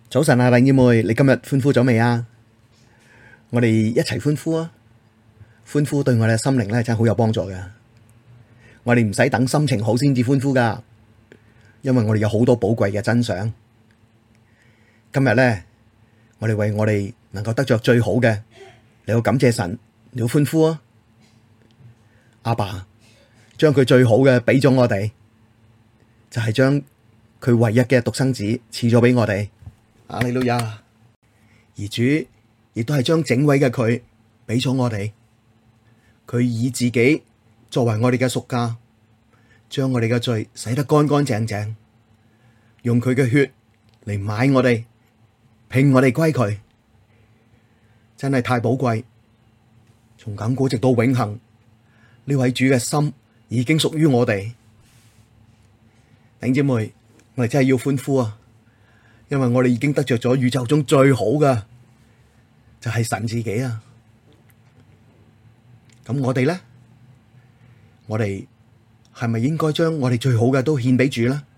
早晨啊，弟兄妹，你今日歡呼咗未啊？我哋一齊歡呼啊！歡呼對我哋嘅心靈咧真係好有幫助嘅。我哋唔使等心情好先至歡呼噶，因為我哋有好多寶貴嘅真相。今日咧，我哋為我哋能夠得着最好嘅，你要感謝神，你要歡呼啊！阿爸將佢最好嘅俾咗我哋，就係將佢唯一嘅獨生子賜咗俾我哋。阿利路亞！而主亦都係將整位嘅佢俾咗我哋，佢以自己作為我哋嘅贖價，將我哋嘅罪洗得乾乾淨淨，用佢嘅血嚟買我哋，聘我哋歸佢，真係太寶貴。從亙古直到永恆，呢位主嘅心已經屬於我哋。弟兄姊妹，我哋真係要歡呼啊！因為我哋已經得着咗宇宙中最好嘅，就係神自己啊！咁我哋咧，我哋係咪應該將我哋最好嘅都獻俾主咧？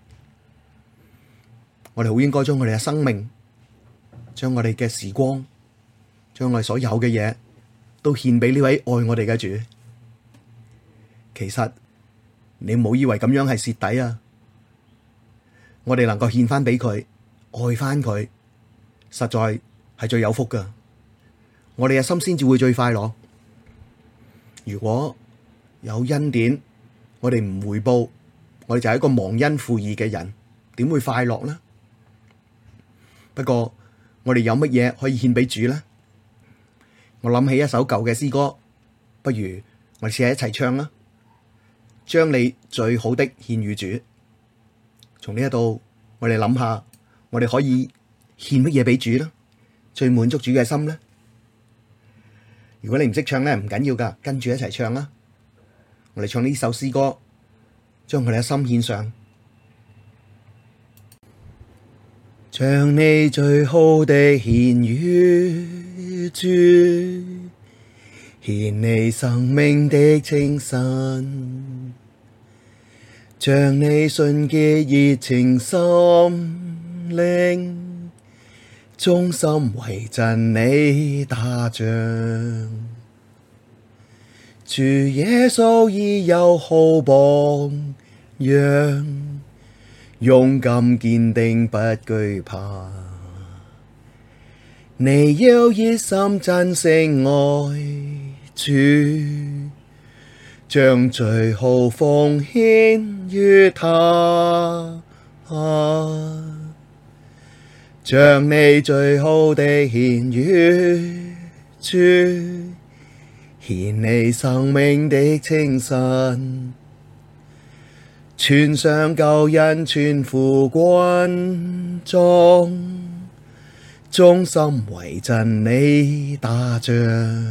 我哋好應該將我哋嘅生命，將我哋嘅時光，將我哋所有嘅嘢都獻俾呢位愛我哋嘅主。其實你唔好以為咁樣係蝕底啊！我哋能夠獻翻俾佢。愛翻佢，實在係最有福噶。我哋嘅心先至會最快樂。如果有恩典，我哋唔回報，我哋就係一個忘恩負義嘅人，點會快樂呢？不過我哋有乜嘢可以獻俾主呢？我諗起一首舊嘅詩歌，不如我哋試下一齊唱啦。將你最好的獻與主。從呢一度，我哋諗下。我哋可以獻乜嘢俾主呢？最滿足主嘅心呢？如果你唔識唱咧，唔緊要噶，跟住一齊唱啦！我哋唱呢首詩歌，將我哋嘅心獻上。將你最好的獻與主，獻你生命的清晨，將你純潔熱情心靈，忠心為真理打仗。主耶穌已有好榜樣，勇敢堅定不懼怕。你要熱心真誠愛主，將最好奉獻與他。將你最好的獻與主，獻你生命的清晨，傳揚救恩全副軍裝，忠心為真理打仗。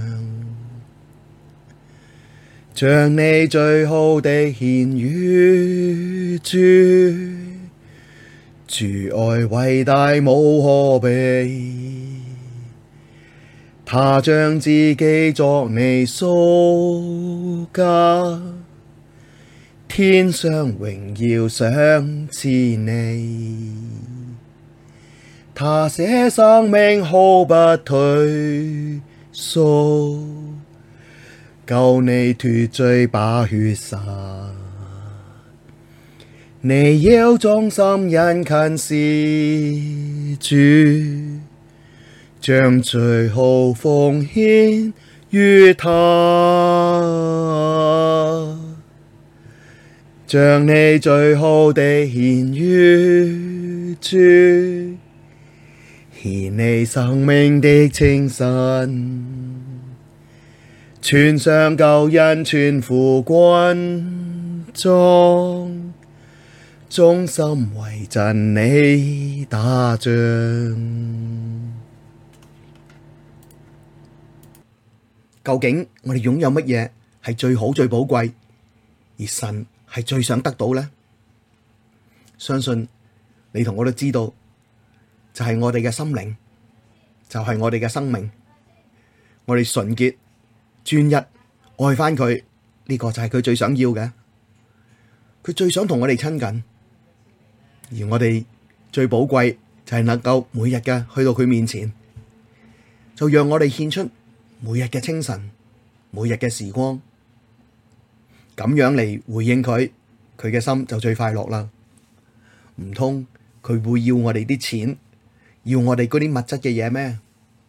將你最好的獻與主，主愛偉大無可比，他將自己作你贖價，天上榮耀賞賜你，他捨生命毫不退縮，救你脫罪把血灑。你要忠心殷勤事主，將最好奉獻與他。將你最好的獻與主，獻你生命的清晨，傳揚救恩全副軍裝，忠心為真理打仗。究竟我哋擁有乜嘢係最好最寶貴，而神係最想得到呢？相信你同我都知道，就係我哋嘅心靈，就係我哋嘅生命，我哋純潔專一愛返佢，呢個就係佢最想要嘅，佢最想同我哋親近。而我哋最寶貴就係能夠每日嘅去到佢面前，就讓我哋獻出每日嘅清晨、每日嘅時光，咁樣嚟回應佢，佢嘅心就最快樂啦。唔通佢會要我哋啲錢，要我哋嗰啲物質嘅嘢咩？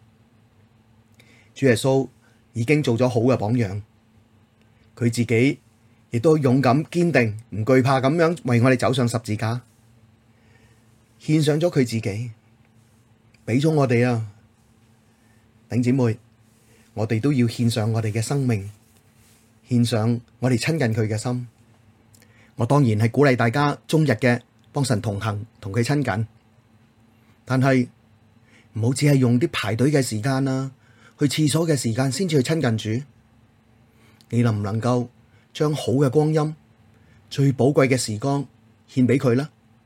主耶穌已經做咗好嘅榜樣，佢自己亦都勇敢堅定，唔懼怕咁樣為我哋走上十字架，獻上咗佢自己，俾咗我哋啊！弟姊妹，我哋都要獻上我哋嘅生命，獻上我哋親近佢嘅心。我當然係鼓勵大家終日嘅幫神同行，同佢親近，但係唔好只係用啲排隊嘅時間啊，去廁所嘅時間先至去親近主。你能唔能夠將好嘅光陰、最寶貴嘅時光獻俾佢呢？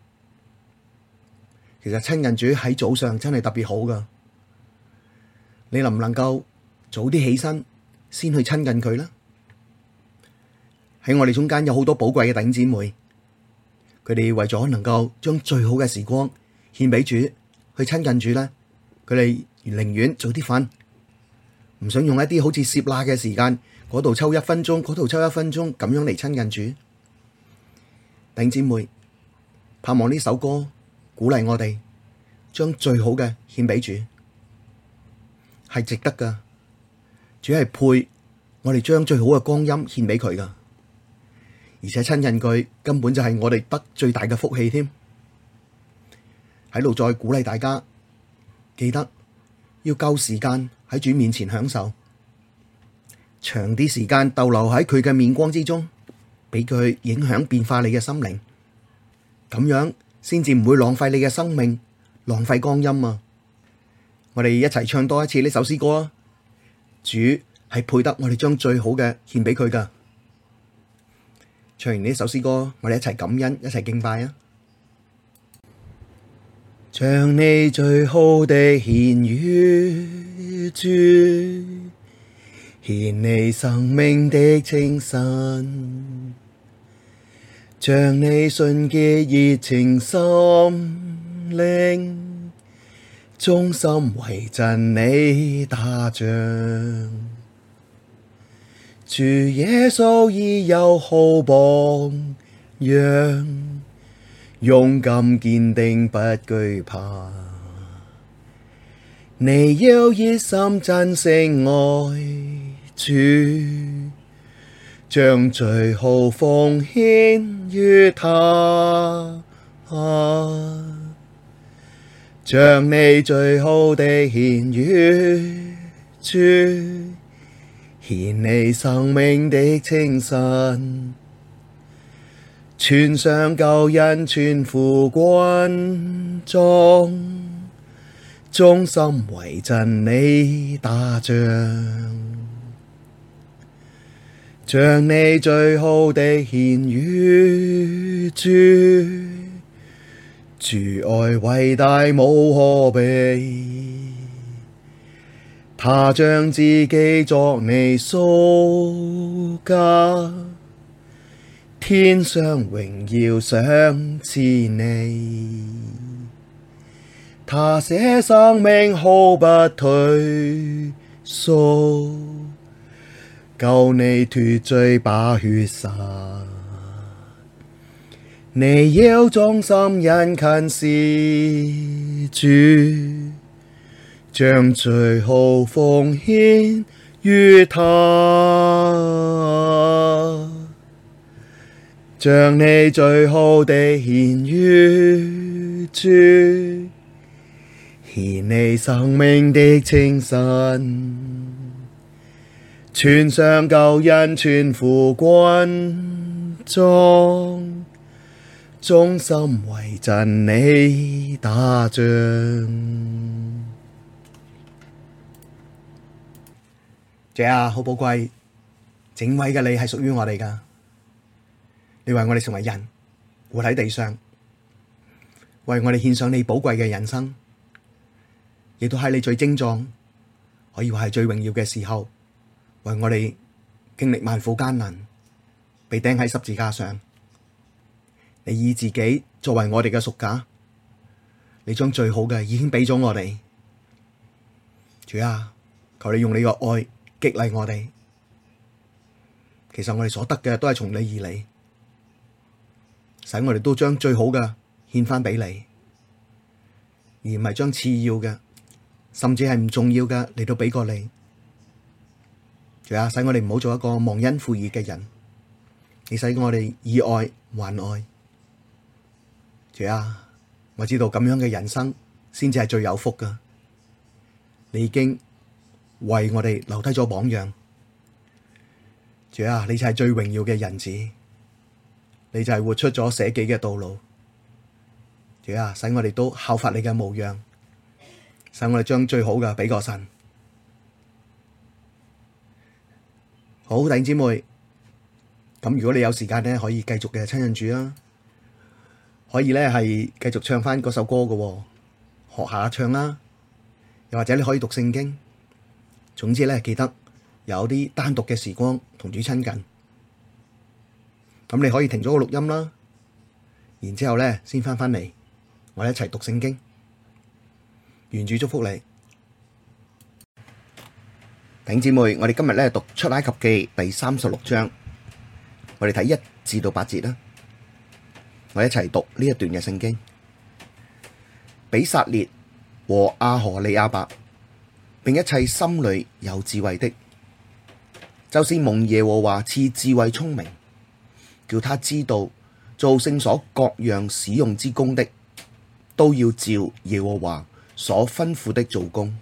其實親近主喺早上真係特別好噶。你能唔能夠早啲起身先去親近佢呢？喺我哋中間有好多寶貴嘅弟兄姊妹，佢哋為咗能夠將最好嘅時光獻俾主，去親近主呢，佢哋寧願早啲瞓，唔想用一啲好似攝那嘅時間，嗰度抽一分鐘，嗰度抽一分鐘，咁樣嚟親近主。弟兄姊妹，盼望呢首歌鼓勵我哋將最好嘅獻俾主，係值得噶。主係配我哋將最好嘅光陰獻俾佢噶，而且親近佢根本就係我哋得最大嘅福氣添。喺度再鼓勵大家，記得要夠時間喺主面前享受，長啲時間逗留喺佢嘅面光之中，俾佢影響變化你嘅心靈，咁樣先至唔會浪費你嘅生命，浪費光陰啊！我哋一齊唱多一次呢首詩歌啊！主係配得我哋將最好嘅獻俾佢噶。唱完呢首詩歌，我哋一齊感恩，一齊敬拜啊！將你最好的獻與主，獻你生命的清晨，將你純潔熱情心靈，忠心為真理打仗。主耶穌已有好榜樣，勇敢堅定不懼怕。你要熱心真誠愛主，將最好奉獻與他，將你最好的獻與主，獻你生命的清晨，傳上救恩全副軍裝，忠心為真理打仗。將你最好的獻與主，主愛偉大無可比，他將自己作你贖價，天上榮耀賞賜你，他捨生命毫不退縮，救你脫罪把血灑。你要忠心殷勤事主，將最好奉獻與他，將你最好的獻與主，獻你生命的清晨，傳上救恩全副軍裝，忠心為真理打仗。主啊，好寶貴，整位嘅你係屬於我哋噶。你為我哋成為人，活喺地上，為我哋獻上你寶貴嘅人生，亦都喺你最精壯，可以話係最榮耀嘅時候，為我哋經歷萬苦艱難，被釘喺十字架上。你以自己作為我哋嘅贖價， 你將最好嘅已經俾咗我哋。主啊，求你用你個愛激勵我哋。其實我哋所得嘅都係從你而嚟，使我哋都將最好嘅獻翻俾你，而唔係將次要嘅，甚至係唔重要嘅嚟到俾過你。主啊，使我哋唔好做一個忘恩負義嘅人，你使我哋以愛還愛。主啊，我知道咁樣嘅人生先至係最有福噶。你已經為我哋留低咗榜樣。主啊，你就係最榮耀嘅人子，你就係活出咗捨己嘅道路。主啊，使我哋都效法你嘅模樣，使我哋將最好嘅俾個神。好，弟兄姊妹，咁如果你有時間咧，可以繼續嘅親近主啊，可以咧係繼續唱翻嗰首歌嘅，學下唱啦，又或者你可以讀聖經。總之咧，記得有啲單獨嘅時光同主親近。咁你可以停咗個錄音啦，然之後咧先翻嚟，我哋一齊讀聖經。願主祝福你，弟兄姊妹。我哋今日咧讀出埃及記第36章，我哋睇1至8節啦。我哋一齊讀呢一段嘅聖經。比撒列和阿何利亞伯，並一切心裡有智慧的，就是蒙耶和華賜智慧聰明，叫他知道做聖所各樣使用之工的，都要照耶和華所吩咐的做工。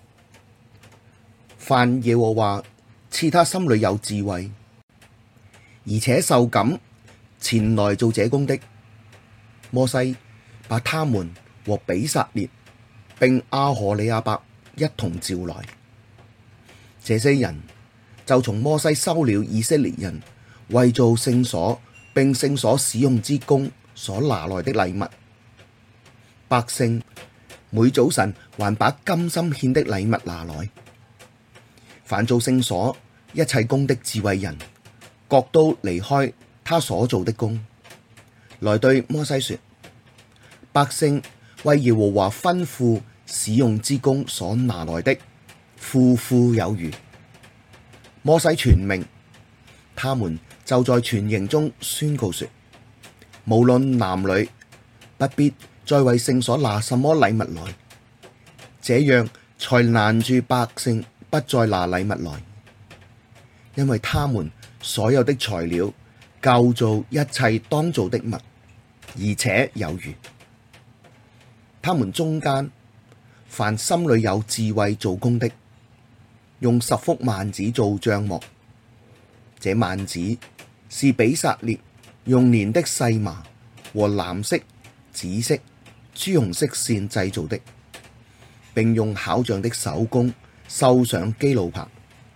凡耶和華賜他心裡有智慧，而且受感前來做這工的，摩西把他們和比撒列並阿何利亞伯一同召來。這些人就從摩西收了以色列人為做聖所並聖所使用之工所拿來的禮物。百姓每早晨還把甘心獻的禮物拿來。凡做聖所一切工的智慧人，各都離開他所做的工，來對摩西說：百姓為耶和華吩咐使用之工所拿來的，富富有餘。摩西傳命，他們就在全營中宣告說：無論男女，不必再為聖所拿什麼禮物來，這樣才攔住百姓不再拿禮物來，因為他們所有的材料夠做一切當做的物，而且有餘。他們中間凡心裡有智慧做工的，用10幅幔子做帳幕，這幔子是比撒列用粘的細麻和藍色、紫色、朱紅色線製造的，並用巧匠的手工繡上基路伯。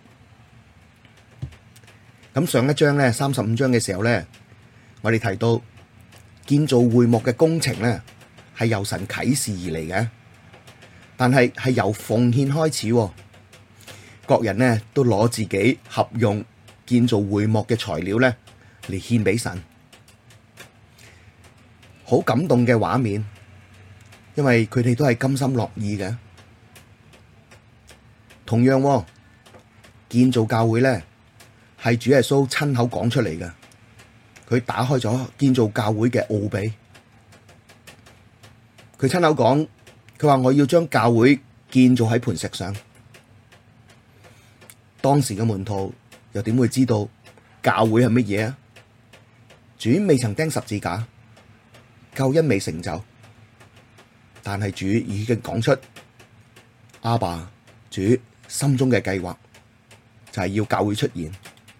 咁上一章咧35章嘅時候咧，我哋提到建造會幕嘅工程咧係由神啟示而嚟嘅，但係由奉獻開始，各人呢都攞自己合用建造會幕嘅材料咧嚟獻俾神，好感動嘅畫面，因為佢哋都係甘心樂意嘅。同樣，建造教會咧係主耶穌親口講出嚟嘅，佢打開咗建造教會嘅奧秘。佢親口講，佢話我要將教會建造喺磐石上。當時嘅門徒又點會知道教會係乜嘢啊？主未曾釘十字架，救恩未成就，但係主已經講出阿爸主心中嘅計劃，就係要教會出現。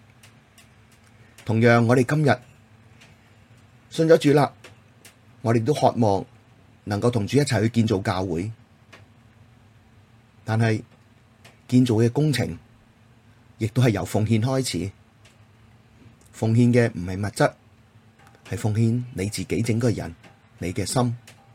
同樣，我哋今日信咗主啦，我哋都渴望能夠同主一齊去建造教會，但係建造嘅工程亦都係由奉獻開始。奉獻嘅唔係物質，係奉獻你自己整個人，你嘅心。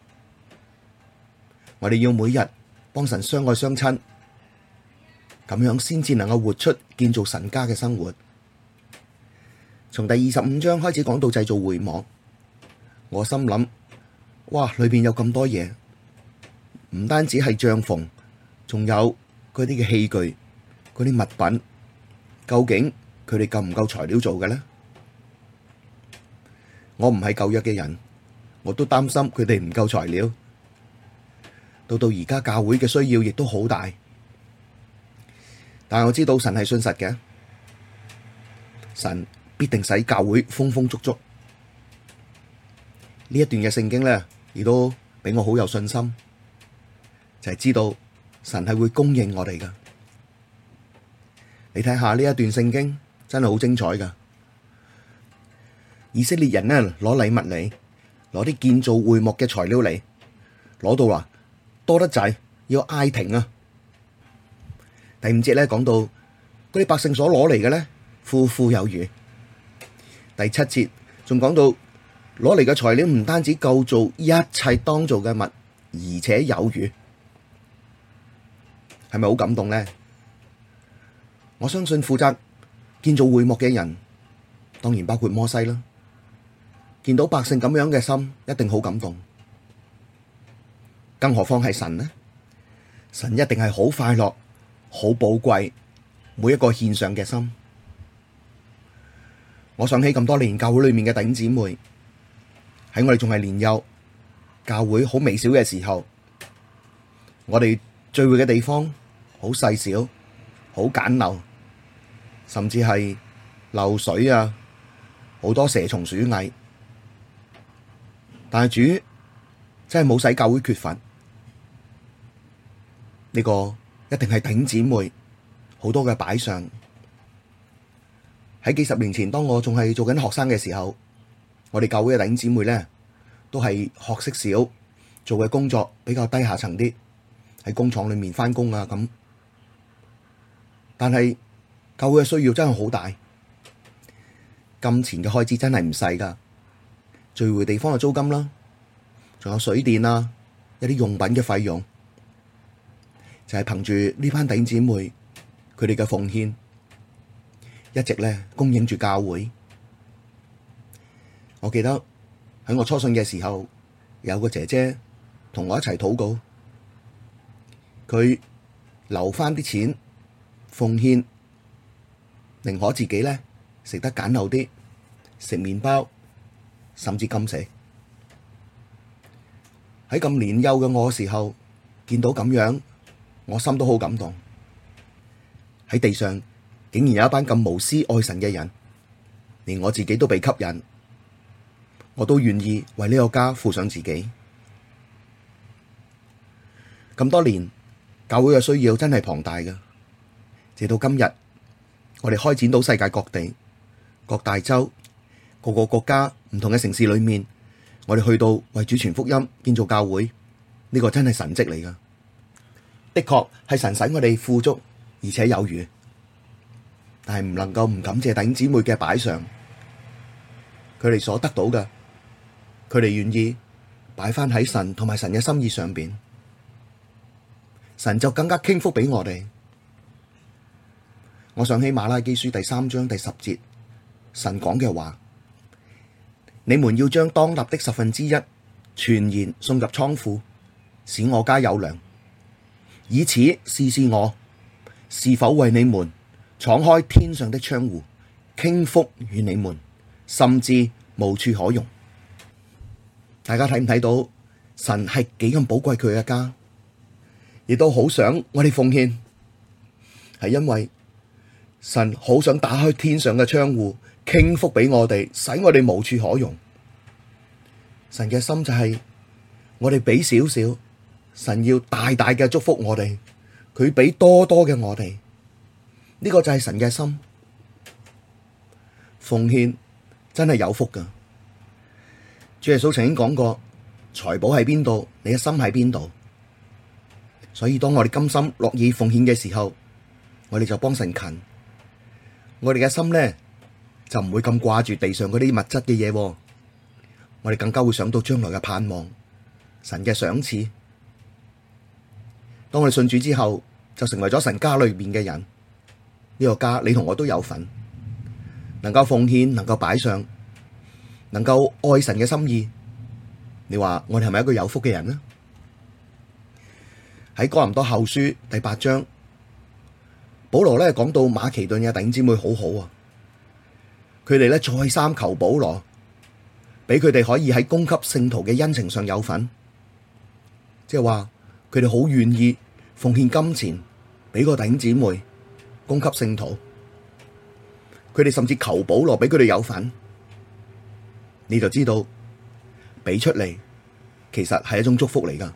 我哋要每日幫神相愛相親，咁樣先至能夠活出建造神家嘅生活。從第25章開始講到製造會幕，我心諗，哇，裏邊有咁多嘢， 唔單止係帳篷，仲有嗰啲嘅器具、嗰啲物品，究竟佢哋夠唔夠材料做嘅呢？我唔係舊約嘅人，我都擔心佢哋唔夠材料。到而家教會嘅需要亦都好大，但係我知道神係信實嘅，神必定使教會豐豐足足。呢一段嘅聖經咧，亦都俾我好有信心，就係知道神係會供應我哋噶。你睇下呢一段聖經真係好精彩噶。以色列人呢，攞禮物嚟，攞啲建造會幕嘅材料嚟，攞到啦，多得滯，要嗌停啊！第5節咧講到嗰啲百姓所攞嚟嘅咧，富富有餘。第7節仲講到攞嚟嘅材料唔單止夠做一切當做嘅物，而且有餘，係咪好感動呢？我相信負責建造會幕嘅人，當然包括摩西啦。見到百姓咁樣嘅心，一定好感動。更何況係神呢？神一定係好快樂、好寶貴每一個獻上嘅心。我想起咁多年教會裏面嘅弟兄姊妹，喺我哋仲係年幼、教會好微小嘅時候，我哋聚會嘅地方好細小、好簡陋，甚至係漏水啊，好多蛇蟲鼠蟻。但係主真係冇使教會缺乏，呢個一定係弟兄姊妹好多嘅擺上。喺幾十年前，當我仲係做緊學生嘅時候，我哋教會嘅弟兄姊妹咧，都係學識少，做嘅工作比較低下層啲，喺工廠裏面翻工啊咁。但係教會嘅需要真係好大，金錢嘅開支真係唔細噶。聚會地方嘅租金啦，仲有水電啊，一啲用品嘅費用，就係憑住呢班弟兄姊妹佢哋嘅奉獻，一直咧供應住教會。我記得喺我初信嘅時候，有個姐姐同我一齊禱告，佢留翻啲錢奉獻，寧可自己咧食得簡陋啲，食麵包，甚至禁食。喺咁年幼嘅我嘅時候，見到咁樣，我心都好感動。喺地上竟然有一班咁無私愛神嘅人，連我自己都被吸引，我都願意為呢個家付上自己。咁多年，教會嘅需要真係龐大嘅。直到今日，我哋開展到世界各地、各大洲、各個國家唔同嘅城市裏面，我哋去到為主傳福音、建造教會，呢個真係神蹟嚟噶。的確係神使我哋富足而且有餘，但係唔能夠唔感謝弟兄姊妹嘅擺上，佢哋所得到嘅，佢哋願意擺翻喺神同埋神嘅心意上邊，神就更加傾福俾我哋。我想起馬拉基書第3章第10節，神講嘅話：你們要將當納的1/10全然送入倉庫，使我家有糧，以此試試我是否為你們敞開天上的窗戶，傾福與你們，甚至無處可容。大家睇唔睇到神係幾咁寶貴佢嘅家，亦都好想我哋奉獻，係因為神好想打開天上嘅窗戶，傾福俾我哋，使我哋無處可容。神嘅心就係我哋俾少少，神要大大嘅祝福我哋，佢俾多多嘅我哋，呢個就係神嘅心。奉獻真係有福噶。主耶穌曾經講過，財寶喺邊度，你嘅心喺邊度。所以當我哋甘心樂意奉獻嘅時候，我哋就幫神勤。我哋嘅心咧就唔會咁掛住地上嗰啲物質嘅嘢，我哋更加會想到將來嘅盼望，神嘅賞賜。當我哋信主之後，就成為咗神家裏面嘅人。呢個家你同我都有份，能夠奉獻，能夠擺上，能夠愛神嘅心意。你話我哋係咪一個有福嘅人呢？ 喺哥林多後書第8章，保羅咧講到馬其頓嘅弟兄姊妹好好啊，佢哋咧再三求保羅，俾佢哋可以喺供給聖徒嘅恩情上有份，即係話佢哋好願意奉獻金錢俾個弟兄姊妹供給聖徒，佢哋甚至求保羅俾佢哋有份，你就知道俾出嚟其實係一種祝福嚟噶。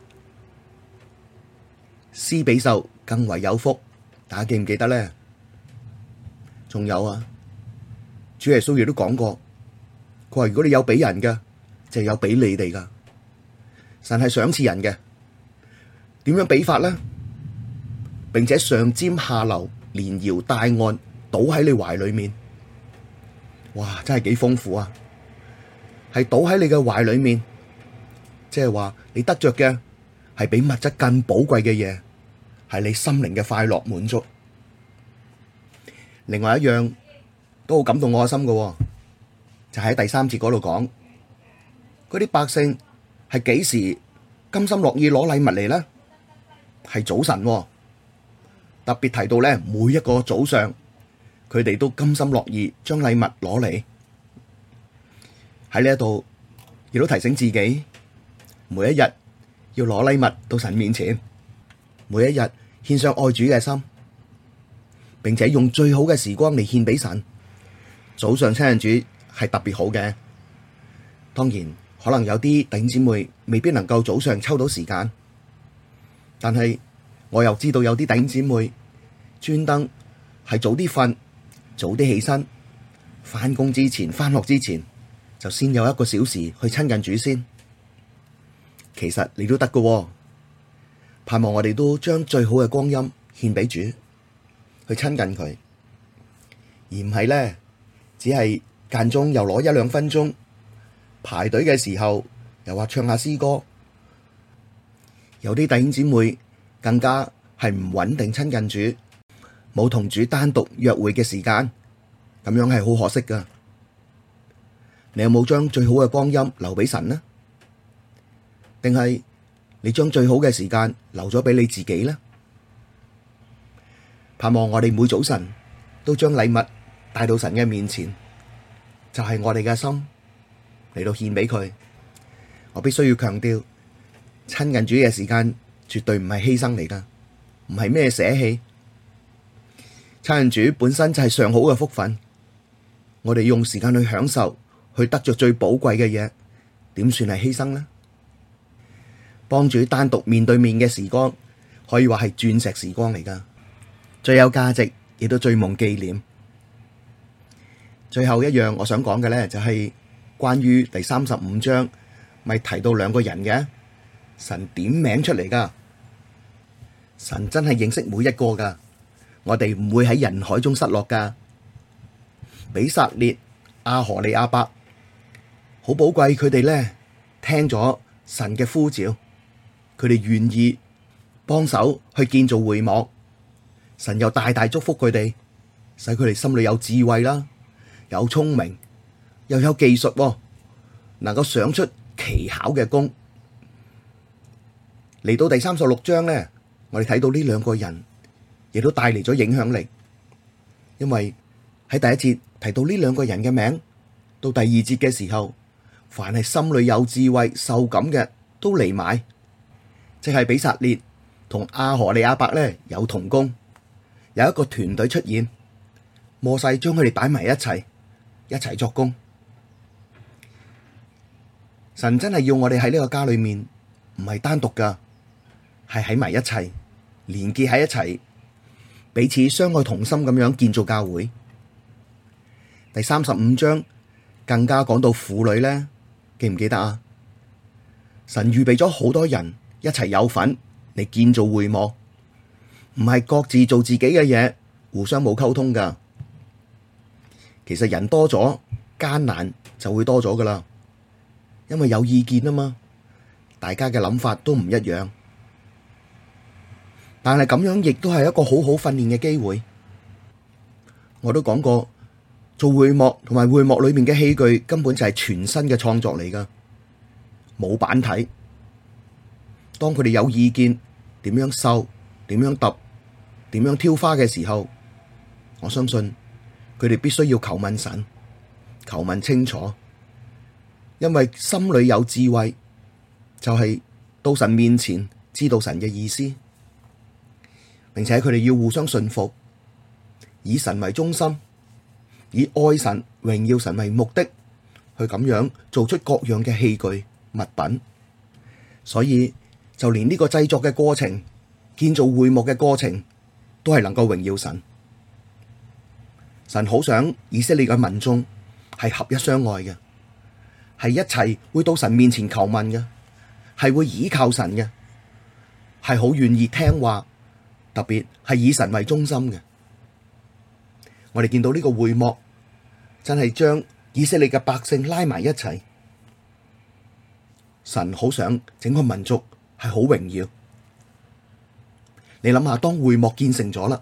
施比受更為有福，大家記唔記得咧？仲有啊，主耶穌亦都講過，佢話如果你有俾人嘅，就有俾你哋噶。神係賞賜人嘅，點樣俾法咧？並且上尖下流，連搖帶按，倒喺你懷裡面。哇，真係幾豐富啊！係倒喺你嘅懷裡面，即係話你得着嘅係比物質更寶貴嘅嘢，係你心靈嘅快樂滿足。另外一樣都好感動我嘅心嘅，就喺第3節嗰度講，嗰啲百姓係幾時甘心樂意攞禮物嚟呢？係早晨，特別提到咧，每一個早上佢哋都甘心樂意將禮物攞嚟。喺呢一度亦都提醒自己，每一日要攞禮物到神面前，每一日獻上愛主嘅心，並且用最好嘅時光嚟獻俾神。早上親近主係特別好嘅，當然可能有啲弟兄姊妹未必能夠早上抽到時間，但係我又知道有啲弟兄姊妹專登係早啲瞓，早啲起身，返工之前、返學之前就先有1個小時去親近主先。其實你都得㗎，盼望我哋都將最好嘅光陰獻俾主，去親近佢，而唔係咧只係間中又攞1-2分鐘排隊嘅時候又話唱下詩歌。有啲弟兄姊妹更加係唔穩定親近主，冇同主單獨約會嘅時間，咁樣係好可惜噶。你有冇將最好嘅光陰留俾神呢？定係你將最好嘅時間留咗俾你自己呢？盼望我哋每早晨都將禮物帶到神嘅面前，就係我哋嘅心嚟到獻俾佢。我必須要強調，親近主嘅時間絕對唔係犧牲嚟噶，唔係咩捨棄。親近主本身就係上好嘅福分，我哋用時間去享受，去得着最寶貴嘅嘢，點算係犧牲呢？幫主單獨面對面嘅時光，可以話係鑽石時光嚟噶，最有價值，亦都最蒙紀念。最後一樣我想講嘅咧，就係關於第35章，咪提到2個人嘅，神點名出嚟噶，神真係認識每一個噶，我哋唔會喺人海中失落噶。比撒列、阿荷利亞伯，好寶貴，佢哋咧聽咗神嘅呼召，佢哋願意幫手去建造會幕，神又大大祝福佢哋，使佢哋心裡有智慧啦，有聰明，又有技術，能夠想出奇巧嘅工。嚟到第36章咧，我哋睇到呢2個人亦都帶嚟咗影響力，因為喺第1節提到呢2個人嘅名，到第2節嘅時候，凡係心裡有智慧、受感嘅都嚟埋，即係比撒列同阿荷利亞伯咧有同工，有一個團隊出現，摩西將佢哋擺埋一齊作工。神真係要我哋喺呢個家裡面，唔係單獨噶，係喺埋一齊，連結喺一齊，彼此相愛同心咁樣建造教會。第35章更加講到婦女咧，記唔記得啊？神預備咗好多人一齊有份嚟建造會幕，唔係各自做自己嘅嘢，互相冇溝通噶。其實人多咗，艱難就會多咗噶啦，因為有意見啊嘛，大家嘅諗法都唔一樣。但係咁樣亦都係一個好好訓練嘅機會。我都講過，做會幕同埋會幕裏面嘅器具根本就係全新嘅創作嚟噶，冇版體。當佢哋有意見， 點樣收、點樣揼、點樣挑花嘅時候，我相信佢哋必須要求問神，求問清楚，因為心裡有智慧，就係到神面前知道神嘅意思，並且佢哋要互相信服，以神為中心，以愛神、榮耀神為目的，去咁樣做出各樣嘅器具物品。所以就連呢個製作嘅過程、建造會幕嘅過程，都係能夠榮耀神。神好想以色列嘅民眾係合一相愛嘅，係一齊會到神面前求問嘅，係會倚靠神嘅，係好願意聽話，特別係以神為中心嘅。我哋見到呢個會幕真係將以色列嘅百姓拉埋一齊，神好想整個民族係好榮耀。你諗下，當會幕建成咗啦，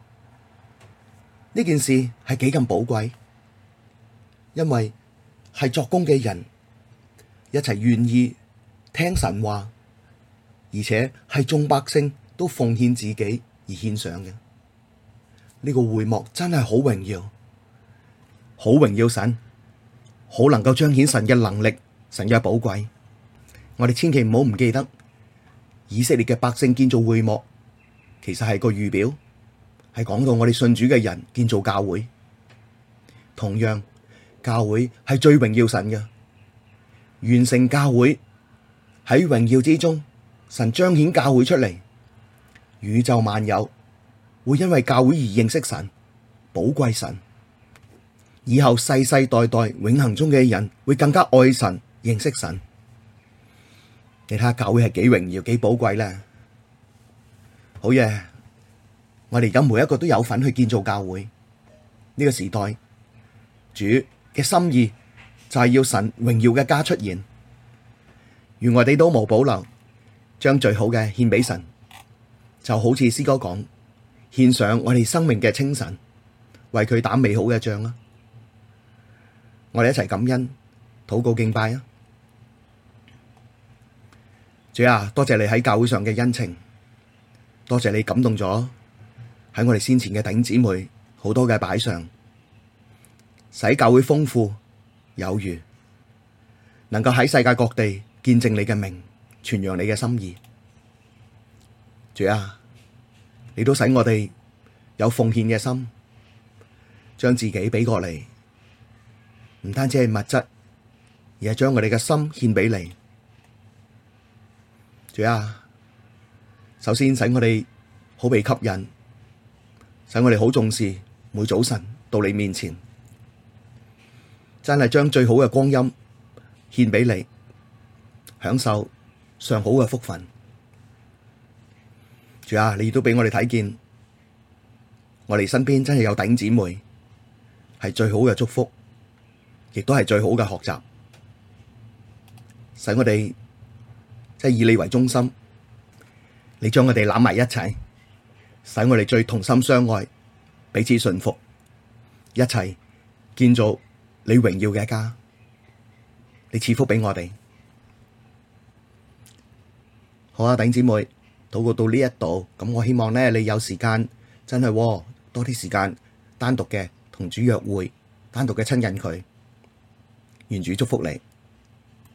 呢件事係幾咁寶貴，因為係作工嘅人一齊願意聽神話，而且係眾百姓都奉獻自己而獻上嘅。呢個會幕真係好榮耀，好榮耀神，好能夠彰顯神嘅能力，神嘅寶貴。我哋千祈唔好唔記得，以色列嘅百姓建造會幕，其實係個預表，係講到我哋信主嘅人建造教會。同樣，教會係最榮耀神嘅，完成教會喺榮耀之中，神彰顯教會出嚟，宇宙萬有會因為教會而認識神，寶貴神。以後世世代代永恆中嘅人會更加愛神，認識神。你睇下教會係幾榮耀，幾寶貴咧。好嘢！我哋而家每一個都有份去建造教會。呢個時代，主嘅心意就係要神榮耀嘅家出現，願我哋都無保留，將最好嘅獻俾神，就好似詩歌講，獻上我哋生命嘅清晨，為佢打美好嘅仗啊！我哋一齊感恩、禱告、敬拜啊！主啊，多謝你喺教會上嘅恩情，多謝你感動咗喺我哋先前嘅弟兄姊妹好多嘅擺上，使教會豐富有餘，能夠喺世界各地見證你嘅名，傳揚你嘅心意。主啊，你都使我哋有奉獻嘅心，將自己俾過嚟，唔單止係物質，而係將我哋嘅心獻俾你。主啊，首先使我哋好被吸引，使我哋好重視每早晨到你面前，真係將最好嘅光陰獻俾你，享受上好嘅福分。主啊，你亦都俾我哋睇見，我哋身邊真係有弟兄姊妹，係最好嘅祝福，亦都係最好嘅學習，使我哋即係以你為中心，你將我哋攬埋一齊，使我哋最同心相愛，彼此順服，一齊建造你榮耀嘅家。你賜福俾我哋。好啊，弟兄姊妹，禱告到呢一度，咁我希望咧，你有時間真係多啲時間單獨嘅同主約會，單獨嘅親近佢。願主祝福你。